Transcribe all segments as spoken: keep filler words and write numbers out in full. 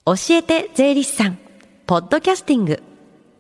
教えて税理士さんポッドキャスティング。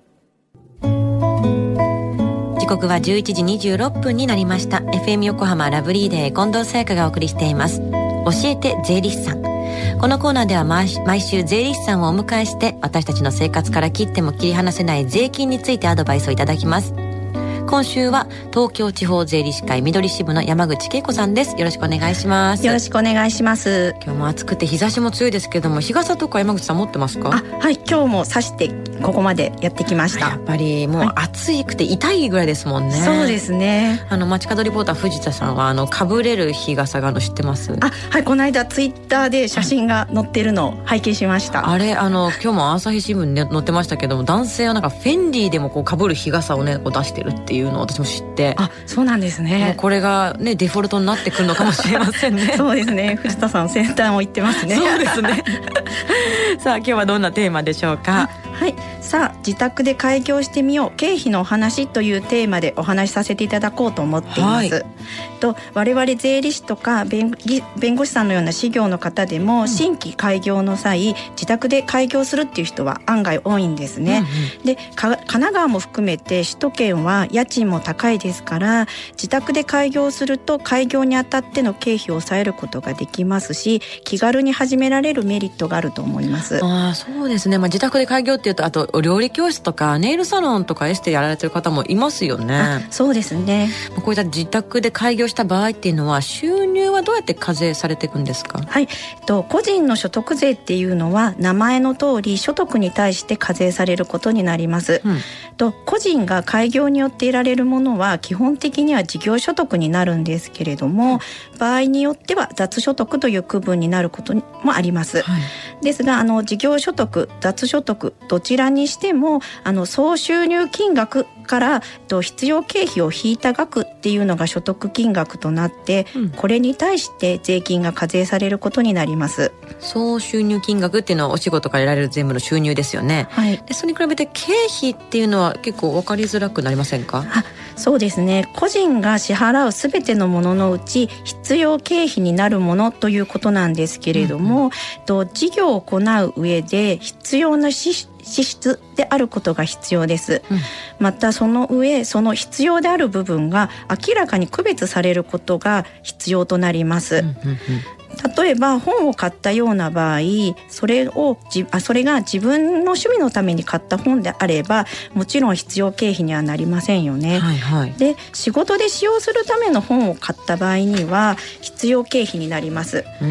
時刻はじゅういちじにじゅうろっぷんになりました。 エフエム 横浜ラブリーデー近藤沙耶香がお送りしています教えて税理士さん。このコーナーでは毎週税理士さんをお迎えして私たちの生活から切っても切り離せない税金についてアドバイスをいただきます。今週は東京地方税理士会緑支部の山口恵子さんです。よろしくお願いします。 よろしくお願いします。 今日も暑くて日差しも強いですけども、日傘とか山口さん持ってますか？ あ、はい、今日も差してここまでやってきました。 やっぱりもう暑くて痛いぐらいですもんね、はい、 そうですね。 あの街角リポーター藤田さんはあのかぶれる日傘があの知ってます？ あ、はい、この間ツイッターで写真が載ってるのを拝見しました。 あれあの今日も朝日新聞に載ってましたけども、男性はなんかフェンディでもこうかぶる日傘をねこう出してるっていうのを私も知って、 あ、そうなんですね。 もうこれがねデフォルトになってくるのかもしれませんねそうですね、藤田さん先端を言ってますね。 そうですねさあ今日はどんなテーマでしょうか？ はい、さあ自宅で開業してみよう経費のお話というテーマでお話しさせていただこうと思っています、はい、と我々税理士とか 弁, 弁護士さんのような事業の方でも、うん、新規開業の際自宅で開業するっていう人は案外多いんですね、うんうん、で神奈川も含めて首都圏は家賃も高いですから、自宅で開業すると開業にあたっての経費を抑えることができますし、気軽に始められるメリットがあると思います。 あ、そうですね、まあ、自宅で開業っていうとあとお料理教室とかネイルサロンとかエステやられてる方もいますよね。 そうですね。 こういった自宅で開業した場合っていうのは収入はどうやって課税されていくんですか？ はい、えっと、個人の所得税っていうのは名前の通り所得に対して課税されることになります、うん、と個人が開業によって得られるものは基本的には事業所得になるんですけれども、うん、場合によっては雑所得という区分になることもあります、はい、ですがあの事業所得雑所得どちらにしてもあの総収入金額からと必要経費を引いた額っていうのが所得金額となって、うん、これに対して税金が課税されることになります。 総収入金額っていうのはお仕事から得られる全部の収入ですよね、はい、でそれに比べて経費っていうのは結構分かりづらくなりませんか？ あ、そうですね。個人が支払うすべてのもののうち必要経費になるものということなんですけれども、うん、と事業を行う上で必要な支支出であることが必要です、うん、またその上その必要である部分が明らかに区別されることが必要となります、うんうんうん、例えば本を買ったような場合、それをじあそれが自分の趣味のために買った本であればもちろん必要経費にはなりませんよね、はいはい、で仕事で使用するための本を買った場合には必要経費になります。うん、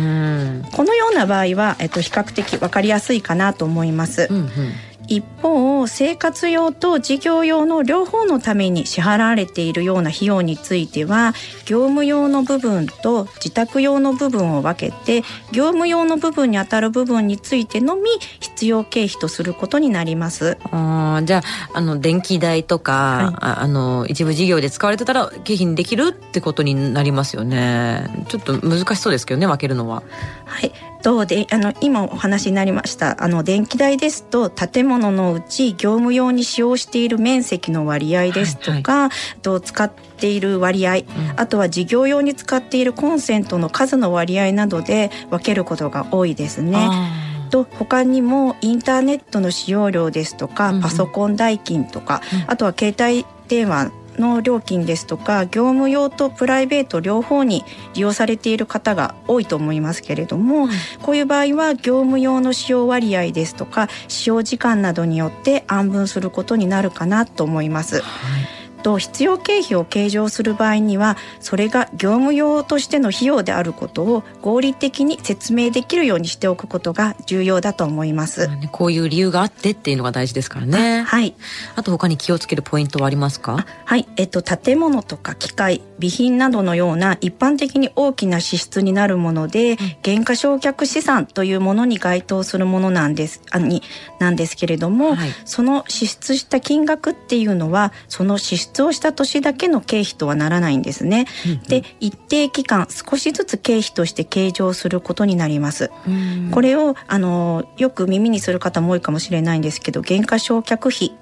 このような場合は、えっと、比較的分かりやすいかなと思います、うんうん。一方生活用と事業用の両方のために支払われているような費用については業務用の部分と自宅用の部分を分けて、業務用の部分にあたる部分についてのみ必要経費とすることになります。 あ、じゃあ、あの電気代とか、はい、ああの一部事業で使われてたら経費にできるってことになりますよね。ちょっと難しそうですけどね、分けるのは。 はい、どうであの今お話になりましたあの電気代ですと建物のうち業務用に使用している面積の割合ですとか、はいはい、と使っている割合、うん、あとは事業用に使っているコンセントの数の割合などで分けることが多いですね。と他にもインターネットの使用量ですとか、うん、パソコン代金とか、うん、あとは携帯電話の料金ですとか業務用とプライベート両方に利用されている方が多いと思いますけれども、うん、こういう場合は業務用の使用割合ですとか使用時間などによって案分することになるかなと思います、はい。と必要経費を計上する場合にはそれが業務用としての費用であることを合理的に説明できるようにしておくことが重要だと思います、 まあね、こういう理由があってっていうのが大事ですからね。 あ、はい、 あと他に気をつけるポイントはありますか？ はい、えっと、建物とか機械備品などのような一般的に大きな支出になるもので、うん、減価償却資産というものに該当するものなんですあになんですけれども、はい、その支出した金額っていうのはその支出をした年だけの経費とはならないんですね、うんうん、で一定期間少しずつ経費として計上することになります。これをあのよく耳にする方も多いかもしれないんですけど減価償却費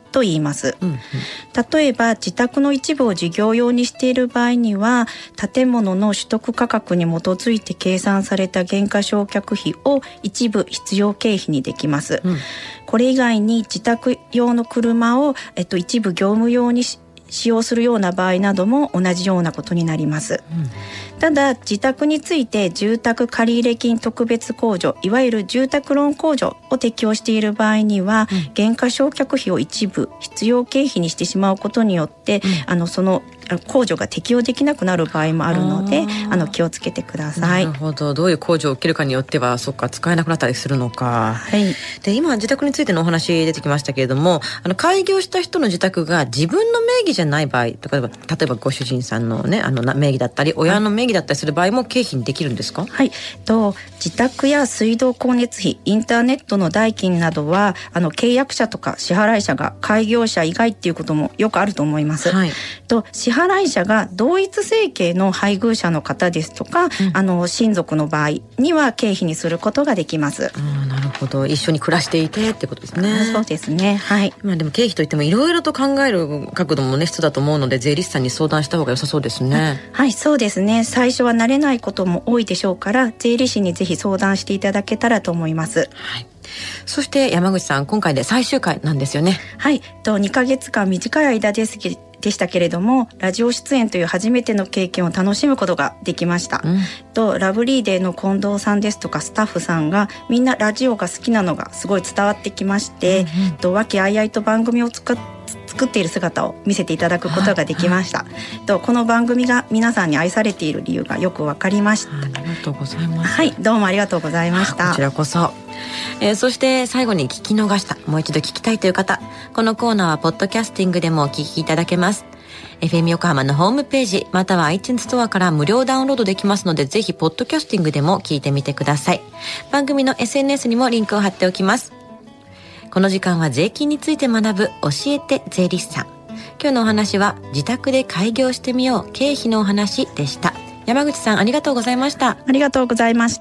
と言います、 うんうん、 例えば自宅の一部を事業用にしている場合には建物の取得価格に基づいて計算された減価償却費を一部必要経費にできます、うん、これ以外に自宅用の車を、えっと、一部業務用にし使用するような場合なども同じようなことになります、うん、ただ自宅について住宅借入金特別控除いわゆる住宅ローン控除を適用している場合には、うん、減価償却費を一部必要経費にしてしまうことによって、うん、あのその控除が適用できなくなる場合もあるのであの気をつけてください。 なるほど。どういう控除を受けるかによってはそっか使えなくなったりするのか、はい、で今自宅についてのお話出てきましたけれどもあの開業した人の自宅が自分の名義じゃない場合例えば例えばご主人さんのねあの名義だったり親の名義だったりする場合も経費にできるんですか？ はい、と自宅や水道光熱費インターネットの代金などはあの契約者とか支払い者が開業者以外っていうこともよくあると思います、はい、と支払い者が同一生計の配偶者の方ですとか、うん、あの親族の場合には経費にすることができます。 あ、なるほど。一緒に暮らしていてってことですね。 そうですね、はい。 まあ、でも経費といってもいろいろと考える角度もね必要だと思うので税理士さんに相談した方が良さそうですね。 はい、そうですね。最初は慣れないことも多いでしょうから税理士にぜひ相談していただけたらと思います。 はい。そして山口さん今回で最終回なんですよね。 はい、とにかげつかん短い間ですけどでしたけれどもラジオ出演という初めての経験を楽しむことができました、うん、とラブリーデーの近藤さんですとかスタッフさんがみんなラジオが好きなのがすごい伝わってきまして、うんうん、と和気あいあいと番組を作っ作っている姿を見せていただくことができました、はいはい、とこの番組が皆さんに愛されている理由がよく分かりました。 ありがとうございます。 はい、どうもありがとうございました。 こちらこそ、えー、そして最後に聞き逃したもう一度聞きたいという方このコーナーはポッドキャスティングでもお聞きいただけます。 エフエム 横浜のホームページまたは iTunes ストアから無料ダウンロードできますのでぜひポッドキャスティングでも聞いてみてください。番組の エスエヌエス にもリンクを貼っておきます。この時間は税金について学ぶ教えて税理士さん。今日のお話は自宅で開業してみよう経費のお話でした。山口さんありがとうございました。 ありがとうございました。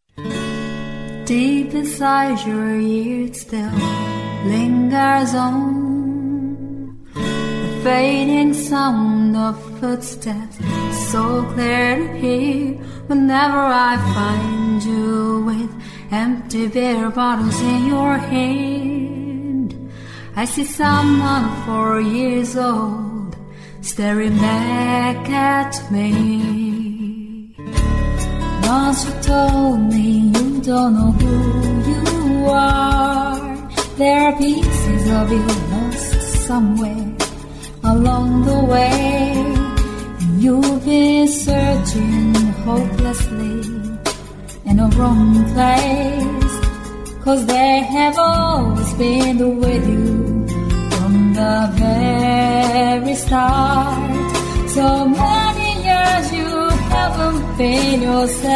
Deep inside your ears still lingers on the fading sound of footsteps so clear to hear whenever I find you with empty beer bottles in your hand. I see someone four years old staring back at me. Once you told me you don't know who you are. There are pieces of you lost somewhere along the way, and you've been searching hopelessly in a wrong place, 'cause they have always been with you from the very start. So many years you haven't been yourself.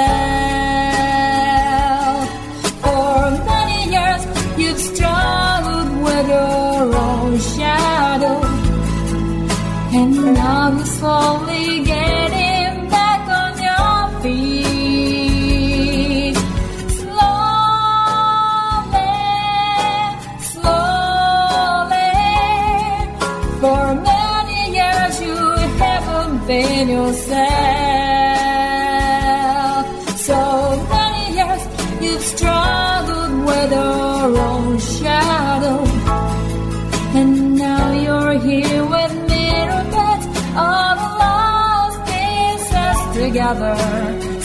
For many years you've struggled with your own shadow, and now you're slowly getting back on your feet. Slowly, slowly. For many years you haven't been yourself. So many years you've struggled with your own shadow, and now you're here with me, all the lost pieces together.